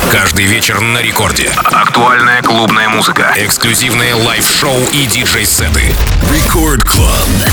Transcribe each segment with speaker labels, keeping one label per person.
Speaker 1: Каждый вечер на рекорде.
Speaker 2: Актуальная клубная музыка.
Speaker 1: Эксклюзивные лайв-шоу и диджей-сеты.
Speaker 3: Record Club.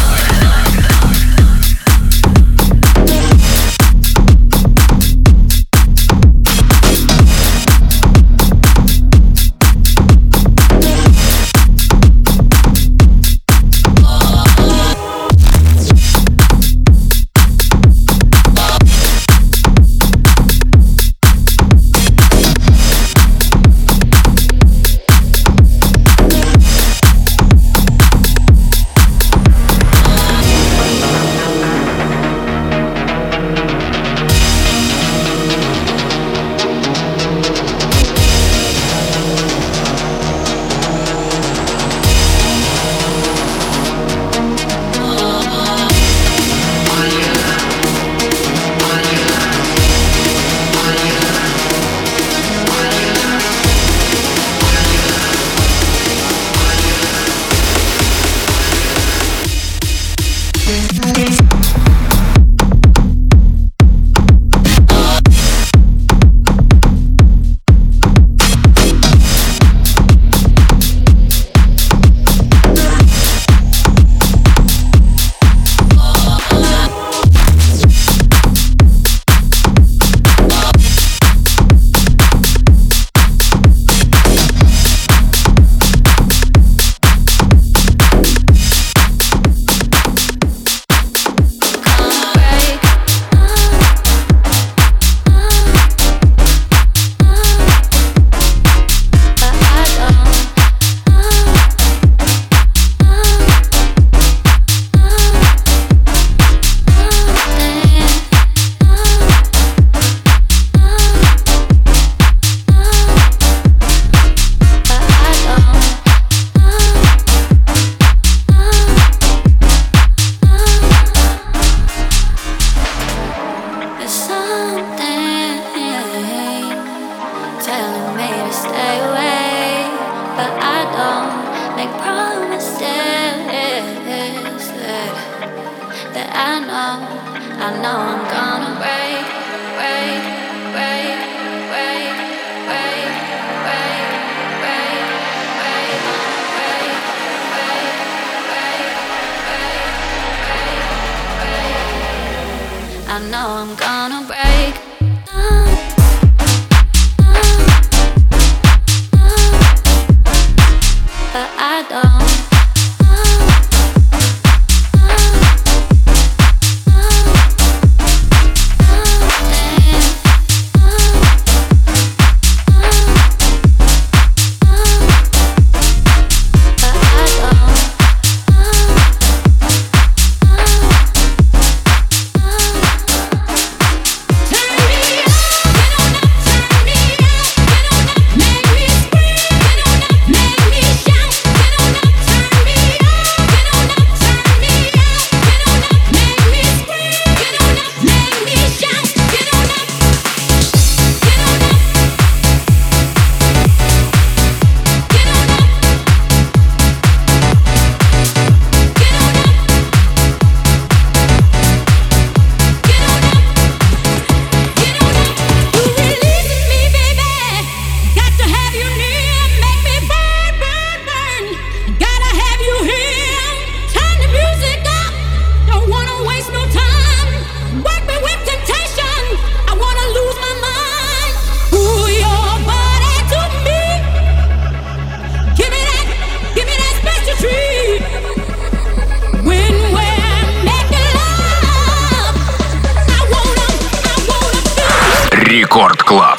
Speaker 2: Рекорд Клаб.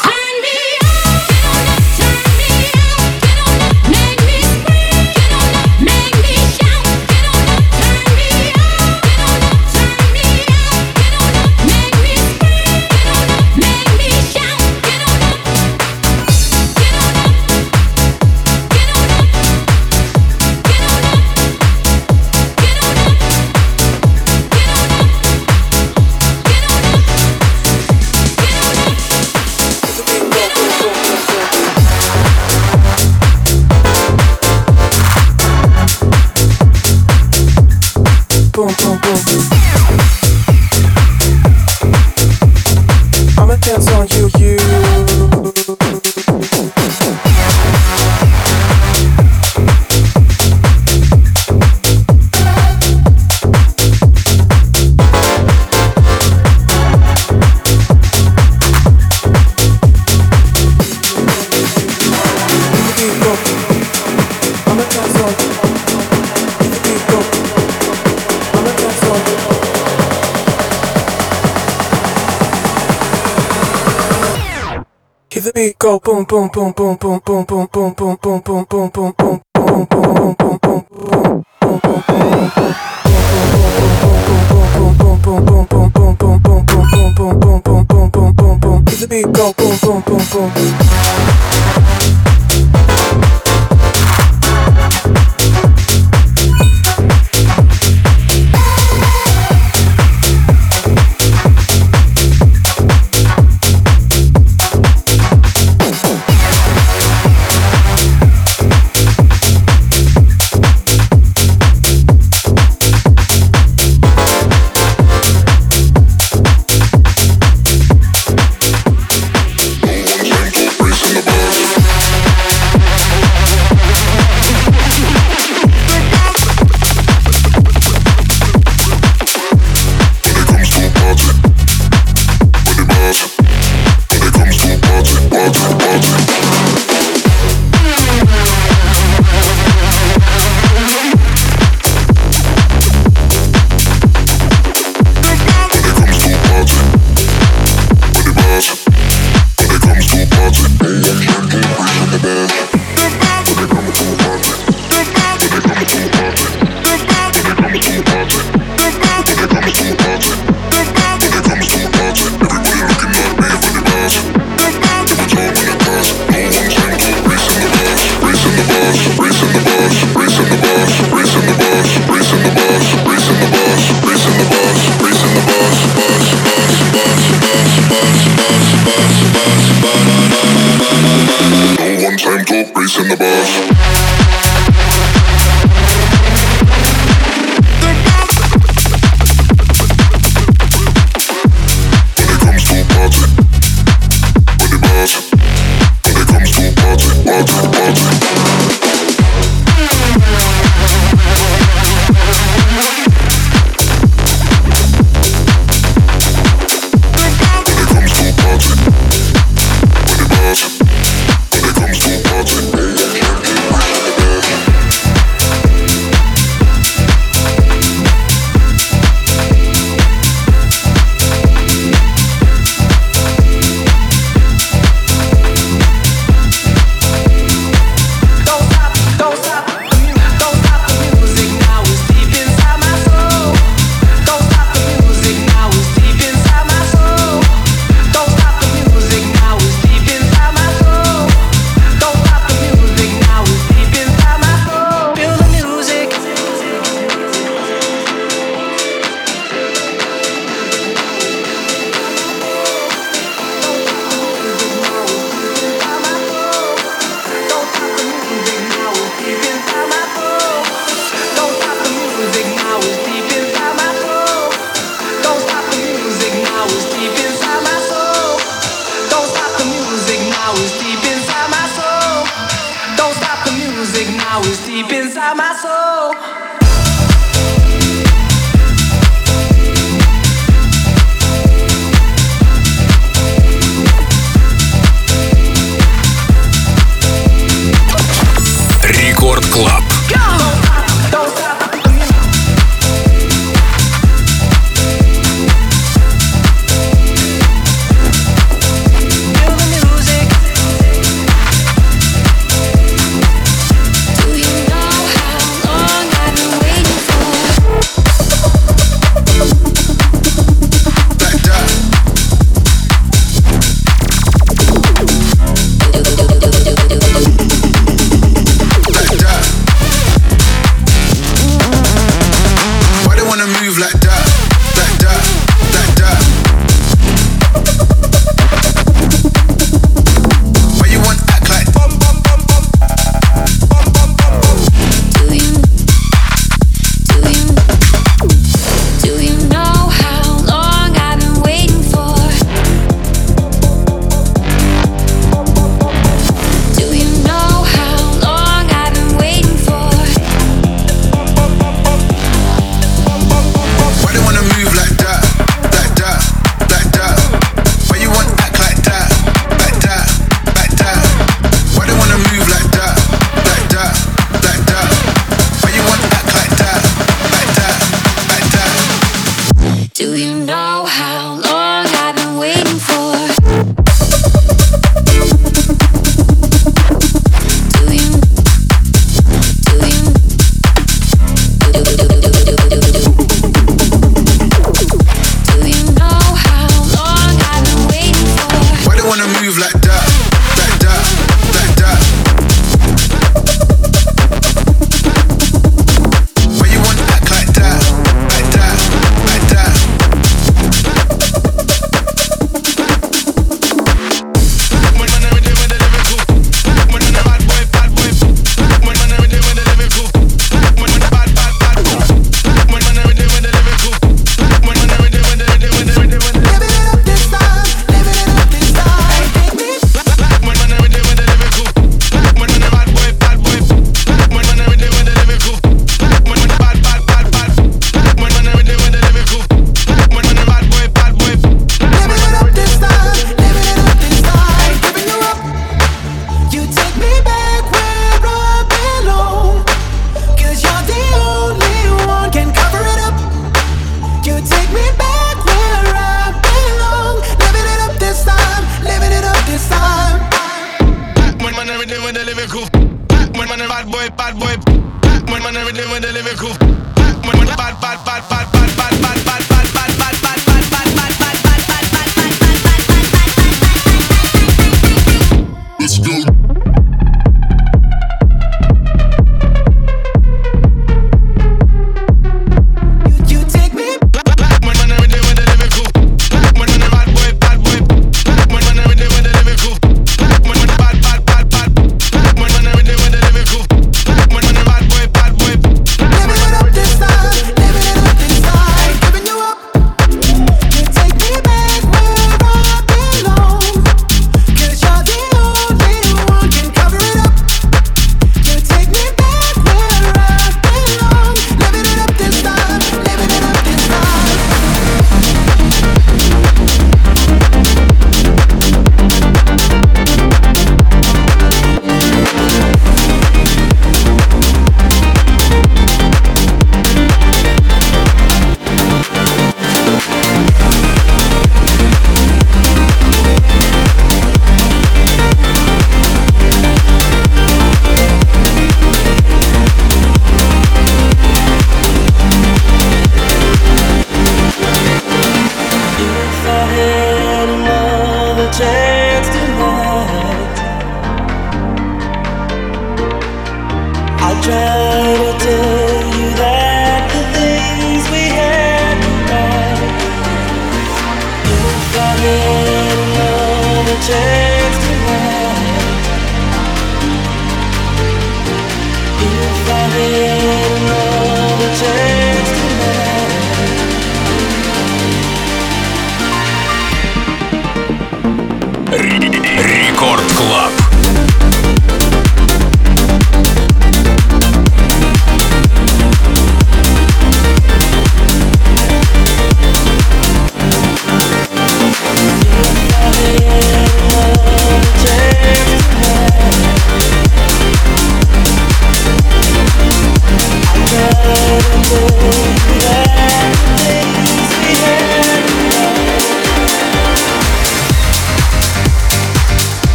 Speaker 4: I'ma dance on you. the beat go boom boom boom boom boom boom boom boom boom boom boom boom boom boom the beat go boom boom boom boom.
Speaker 5: bad boy, bad boy. Man, everything when they live it cool. Man, bad, bad, bad, bad, bad, bad, bad, bad, bad, bad, bad, bad, bad, bad, bad, bad, bad. Let's go.
Speaker 1: Рекорд Клаб.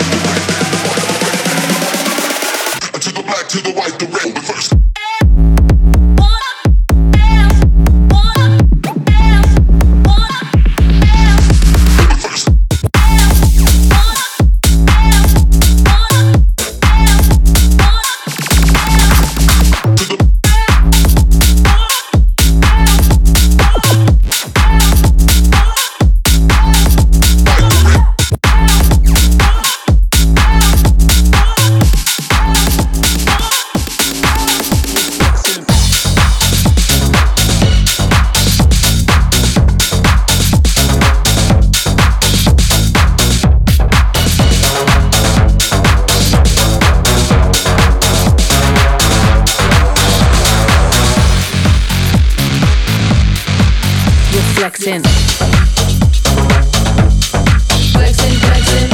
Speaker 3: To the white, the red, the first.
Speaker 6: flexing. Flexing, flexing.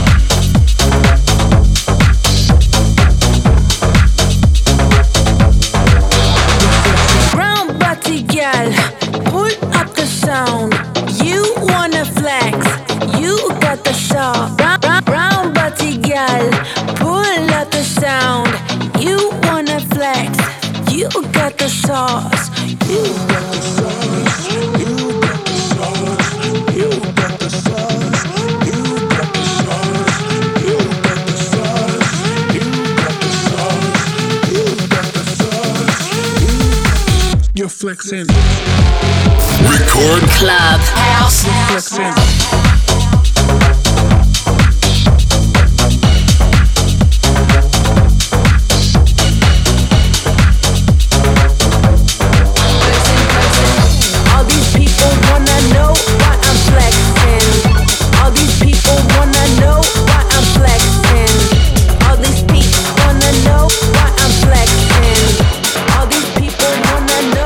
Speaker 6: Brown body gal, pull up the sound. You wanna flex, you got the shot. Brown body gal, pull up the sound. You wanna flex, you got the sauce. You got the sauce. You got the sauce. You got the sauce. You got the sauce. You got the sauce. You got the sauce. You got the sauce.
Speaker 5: You're flexing.
Speaker 3: Record
Speaker 6: Club House.
Speaker 5: Flexing.
Speaker 6: All these people wanna know why I'm flexing. All these people wanna know why I'm flexing. All these people wanna know why I'm flexing. All these people wanna know.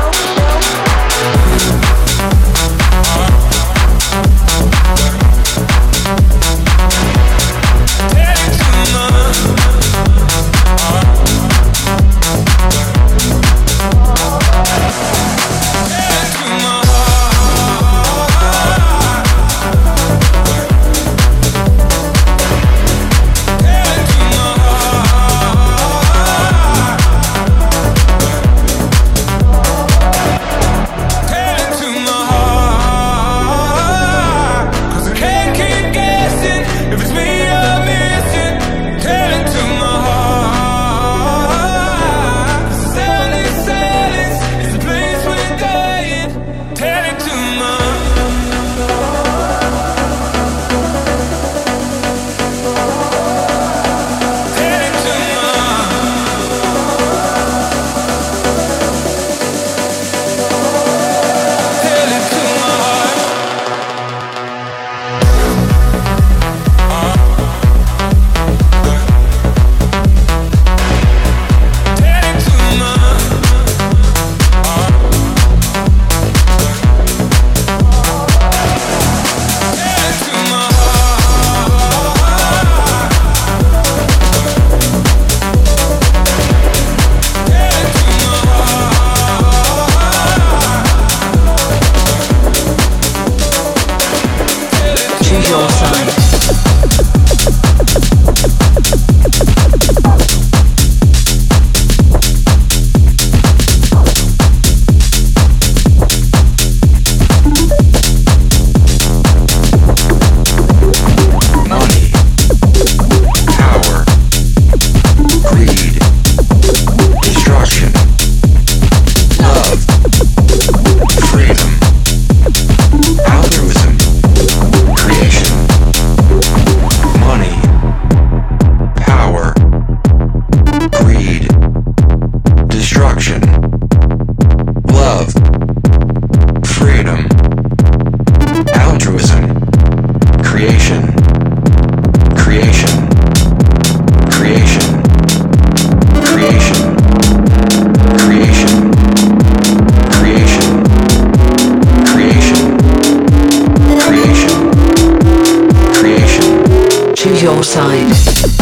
Speaker 6: Your side.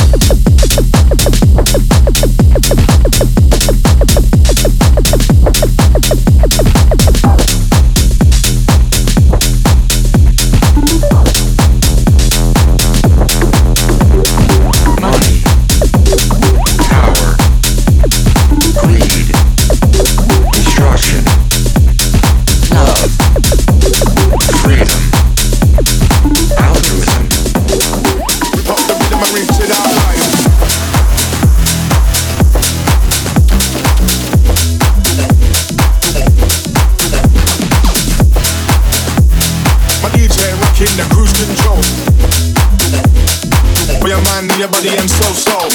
Speaker 5: Your body and soul.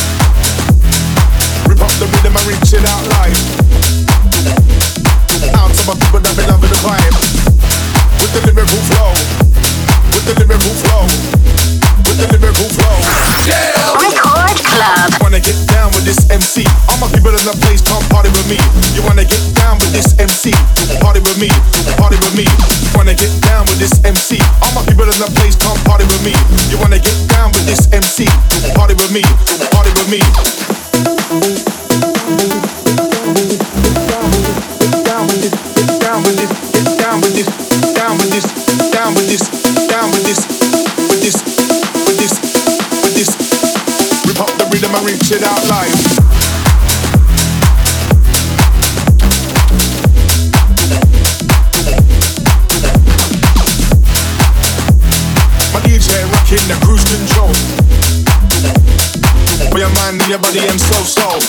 Speaker 5: Rip up the rhythm and reach it out live. Out to my people that be loving the vibe. With the lyrical flow. With the lyrical flow. With the lyrical flow. Yeah!
Speaker 6: Record Club.
Speaker 5: Wanna get down with this MC? All my people in the place come party with me. You wanna get down with this MC, party with me, party with me. Wanna get down with this MC? All my people in the place, come party with me. You wanna get down with this MC? Party with me, party with me. Down with this, down with this, down with this, down with this, down with this, down with this, with this, with this, with this. Rip up the rhythm and reach it out live. In the cruise control, for your mind and your body and soul.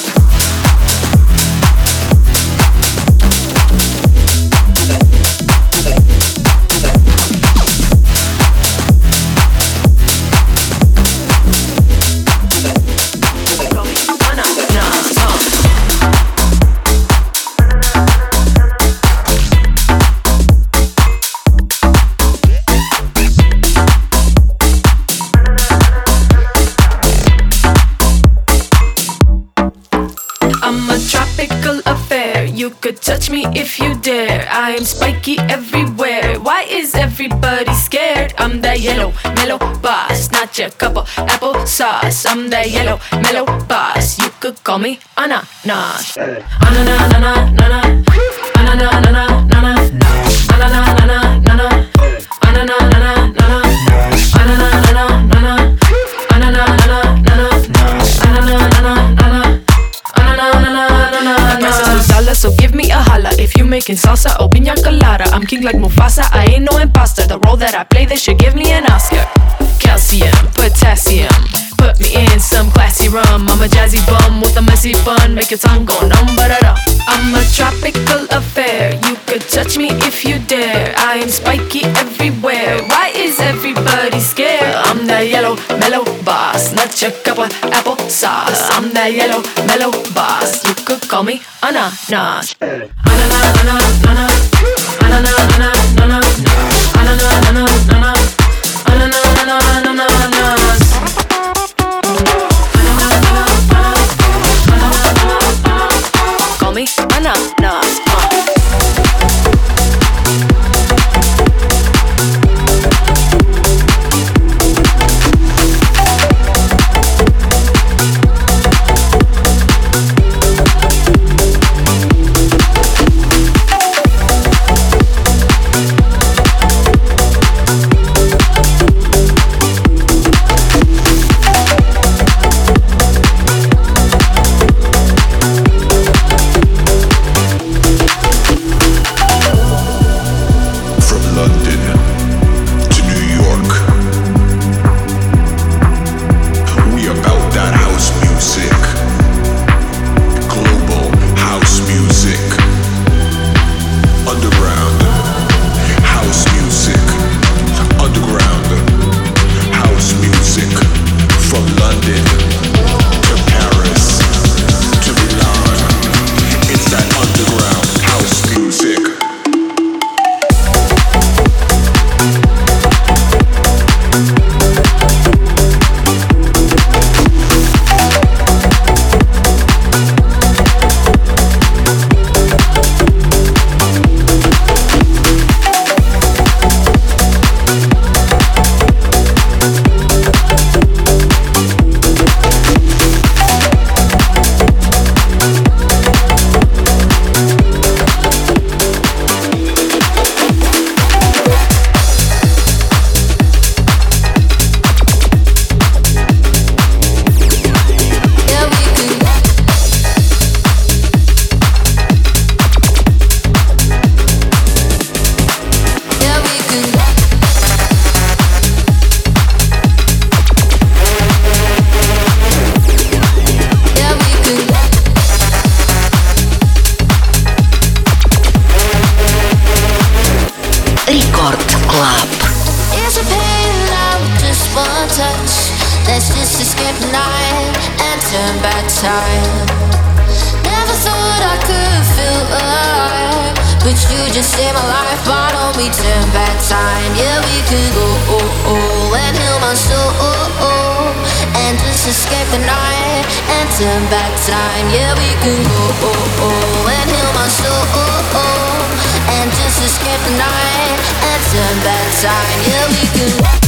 Speaker 6: You could touch me if you dare. I am spiky everywhere. Why is everybody scared? I'm that yellow, mellow boss, not your cup of apple sauce. I'm that yellow, mellow boss. You could call me ananas. Ananas, ananas, ananas, ananas, ananas, ananas, ananas, ananas, ananas, ananas. So give me a holla if you making salsa or piña colada. I'm king like Mufasa, I ain't no imposter. The role that I play, they should give me an Oscar. Calcium, potassium, put me in some classy rum. I'm a jazzy bum with a messy bun, make your tongue go numb, ba-da-da. I'm a tropical affair, you could touch me if you dare. I am spiky everywhere, why is everybody scared? I'm that yellow, mellow boss, not your cup of apple sauce. I'm that yellow, mellow boss, you could call me ananas. Ananas, ananas, ananas, ananas, ananas, ananas, ananas, ananas. Call me ananas.
Speaker 7: Let's just escape the night and turn back time. Never thought I could feel alive, But you just saved my life, why don't we turn back time? Yeah, we could go and heal my soul and just escape the night and turn back time. Yeah, we could go and heal my soul and just escape the night and turn back time. Yeah, we could.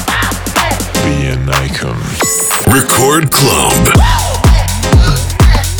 Speaker 3: Record Club.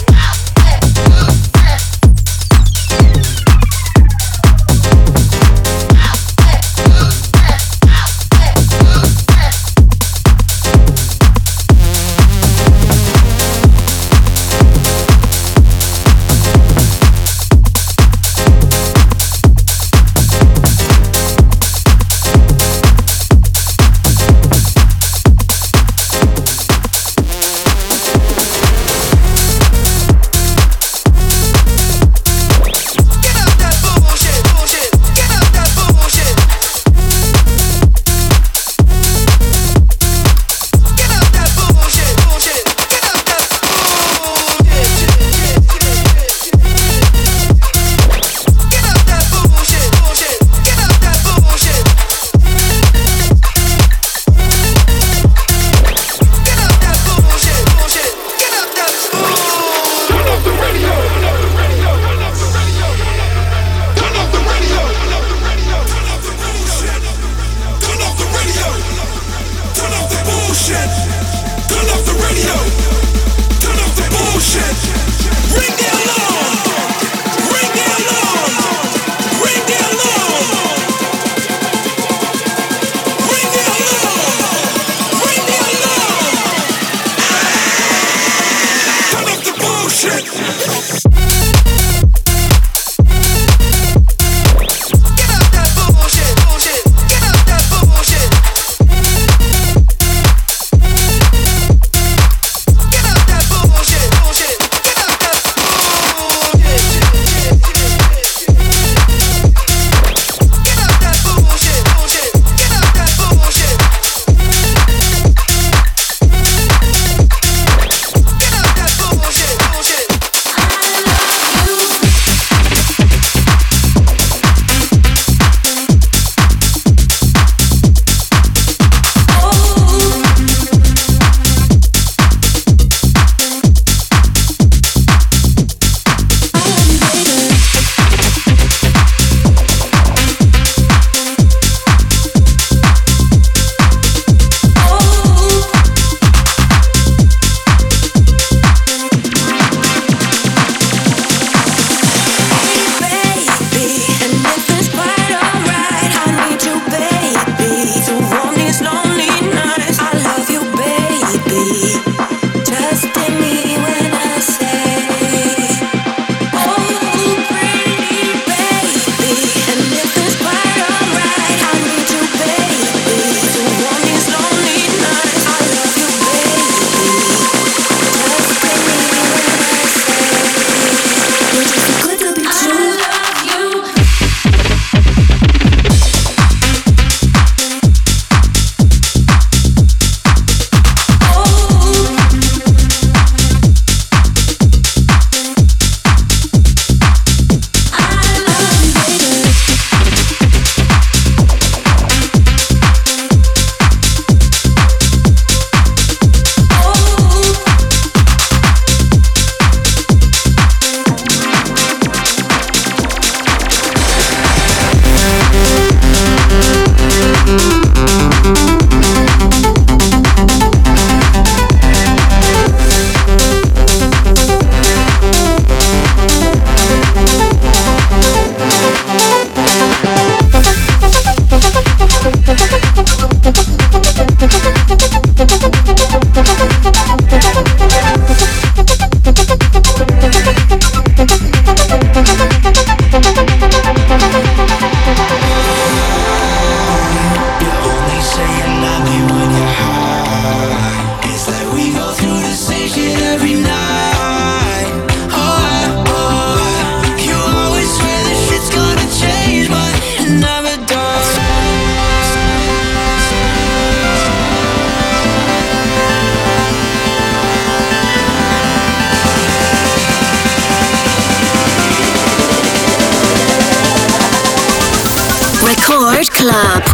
Speaker 7: Club.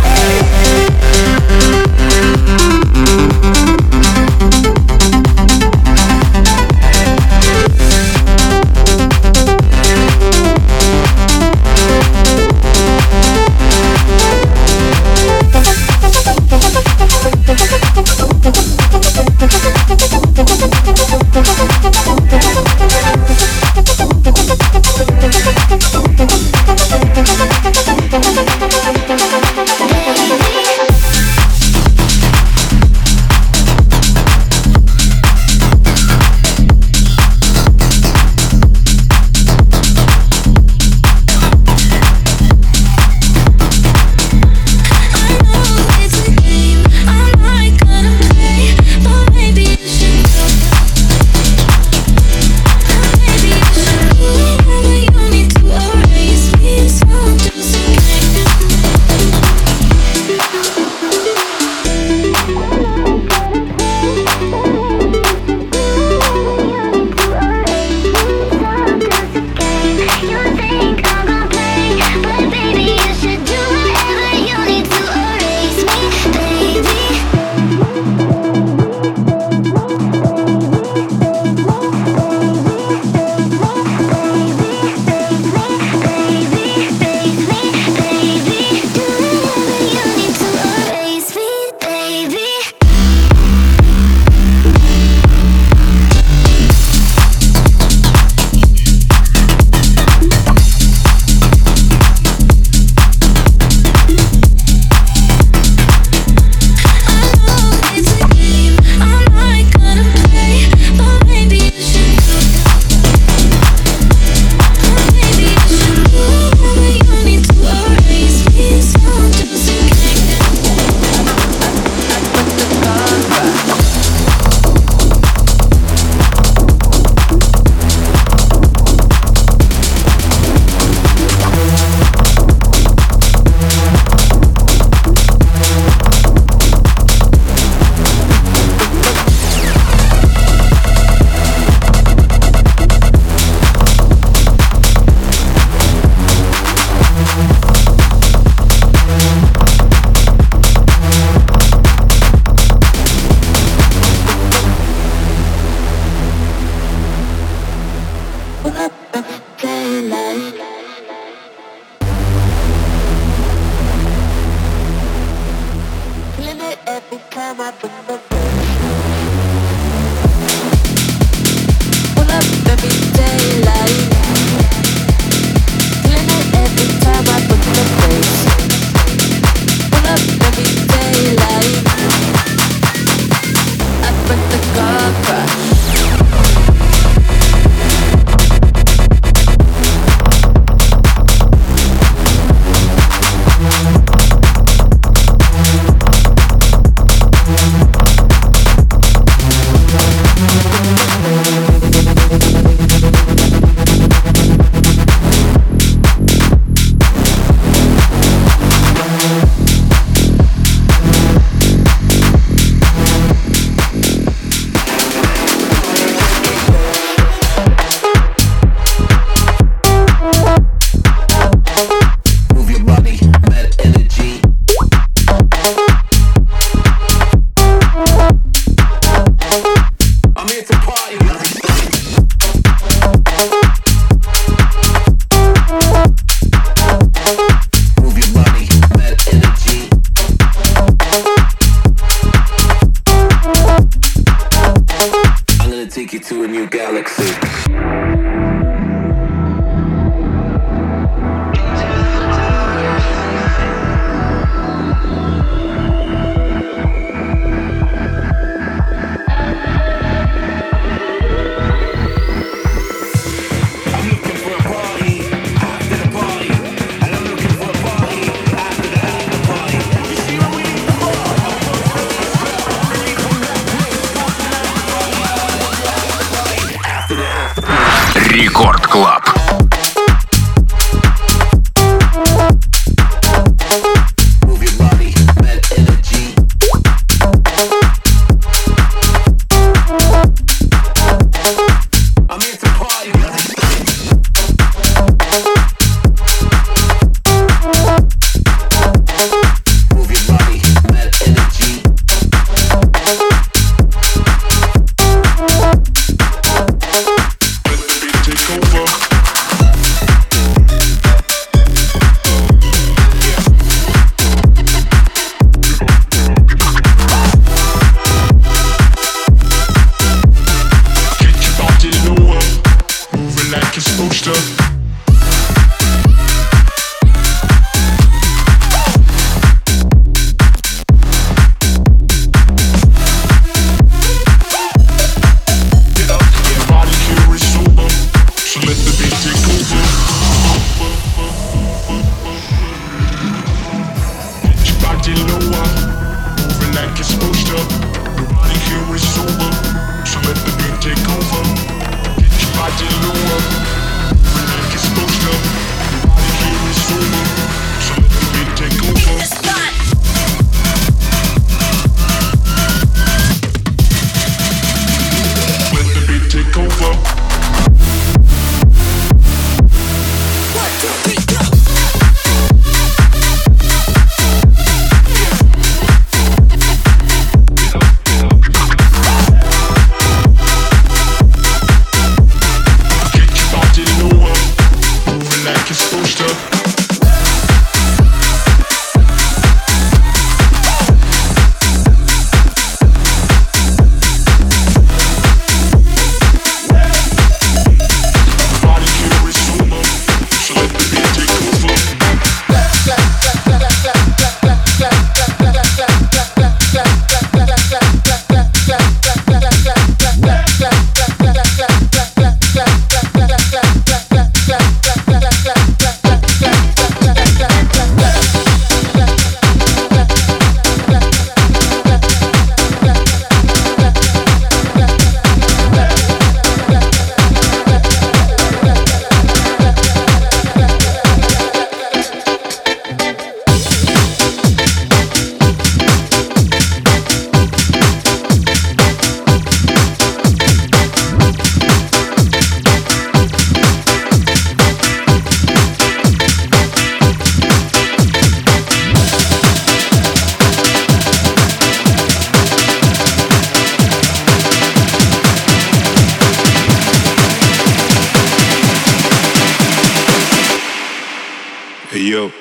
Speaker 5: Hey yo.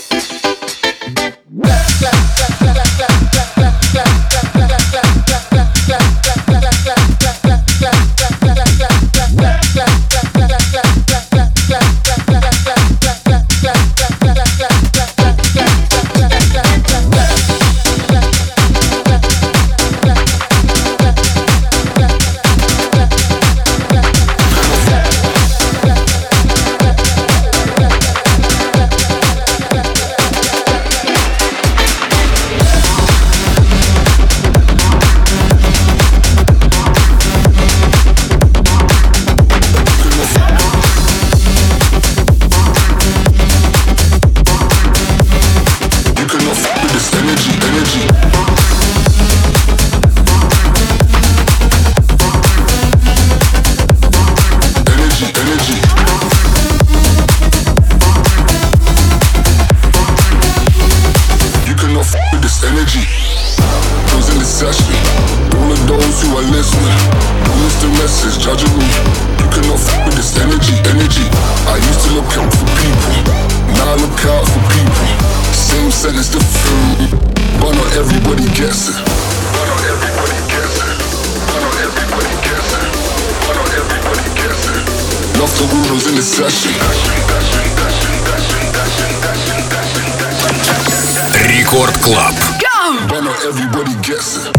Speaker 1: Рекорд Клаб.
Speaker 3: Everybody gets it.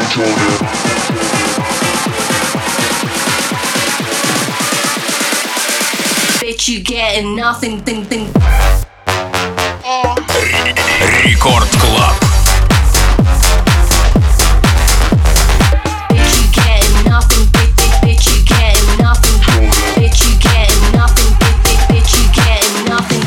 Speaker 7: Bitch, you getting nothing, thing.
Speaker 1: Рекорд Клаб.
Speaker 7: Bitch, you getting nothing, bitch, you getting nothing. Bitch, you getting nothing, bitch, you getting nothing.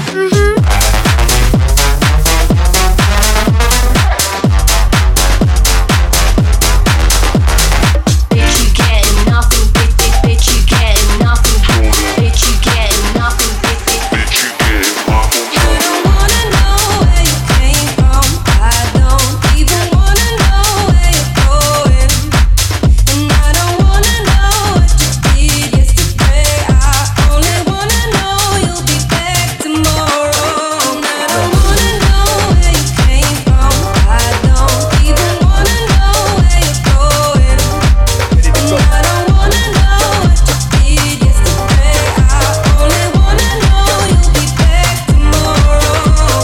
Speaker 7: Bitch, you getting nothing, bitch, you getting nothing. Bitch, you getting nothing, bitch, you getting nothing. I don't wanna know where you came from. I don't even wanna know where you're going. And I don't wanna know what you did yesterday. I only wanna know you'll be back tomorrow. And I don't wanna know where you came from. I don't even wanna know where you're going. And I don't wanna know what you did yesterday. I only wanna know you'll be back tomorrow.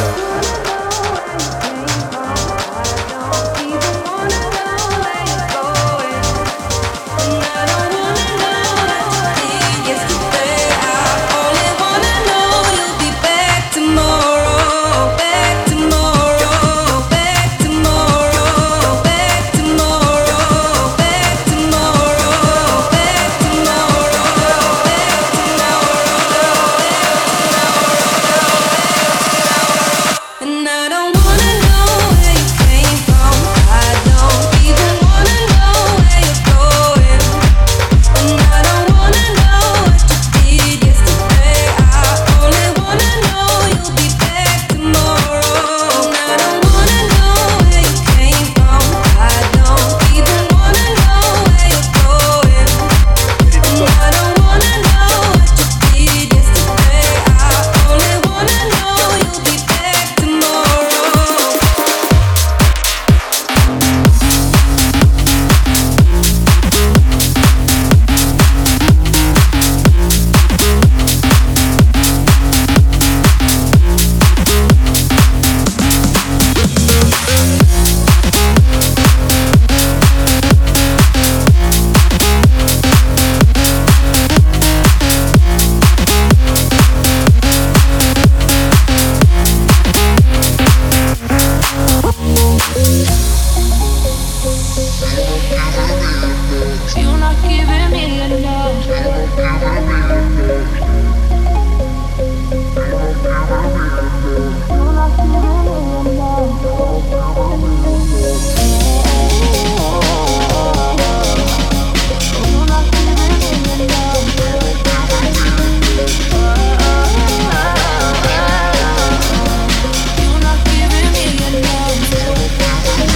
Speaker 7: And I don't wanna know where you came from. I don't even wanna know where you're going. And I don't wanna know what you did yesterday. I only wanna know you'll be back tomorrow. And I don't wanna know where you came from. I don't even wanna know where you're going. And I don't wanna know what you did yesterday. I only wanna know you'll be back tomorrow. You're not giving me enough. You're not giving me enough.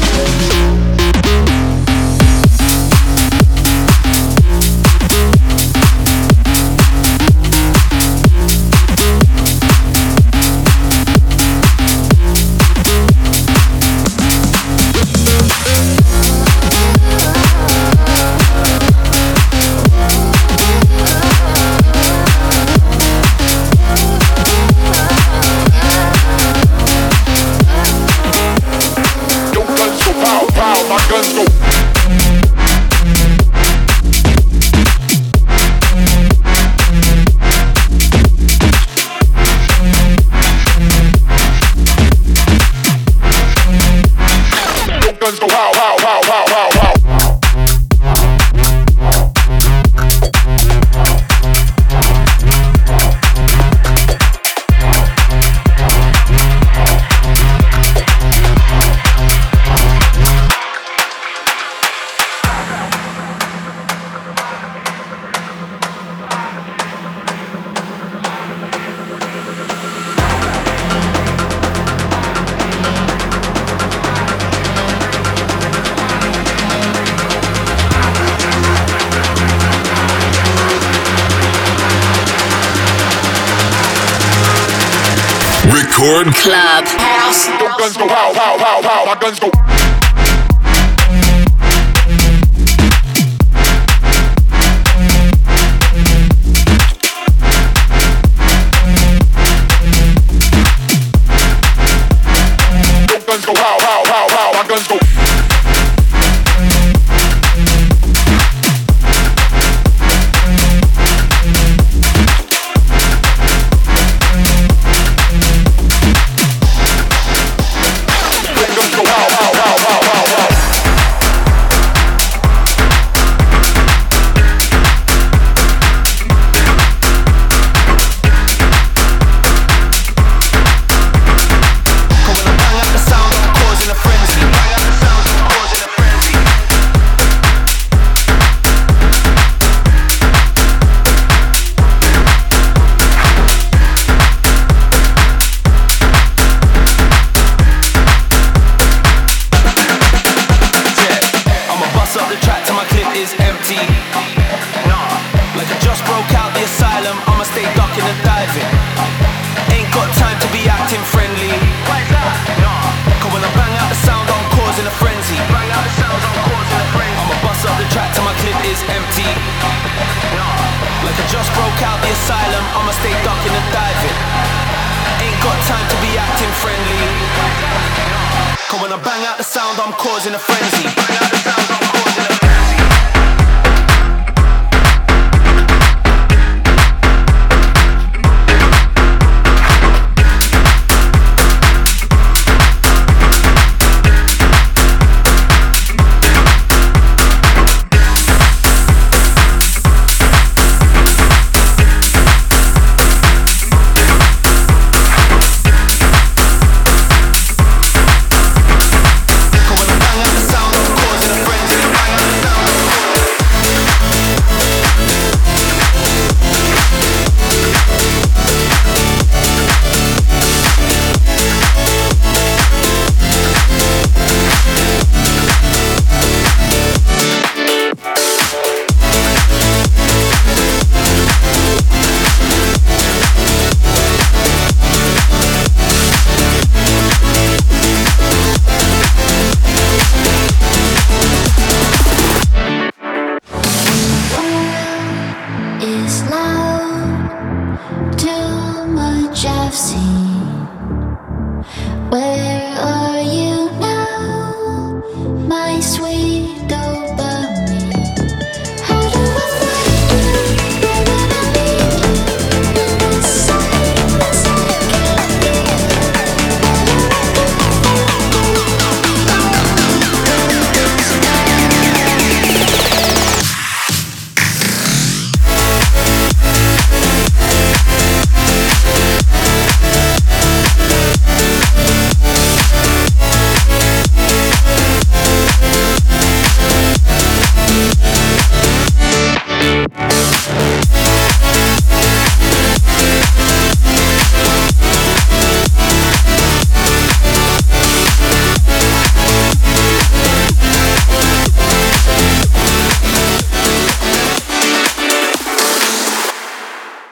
Speaker 5: Your guns go pow pow, my guns go. Your guns go pow pow pow pow pow pow.
Speaker 1: Record
Speaker 7: Club.
Speaker 5: Your guns go pow pow pow pow, my guns go. Your guns go pow pow pow pow, my guns go.
Speaker 8: stay ducking and diving. Ain't got time to be acting friendly. Cause when I bang out the sound, I'm causing a frenzy. Bang out the sound.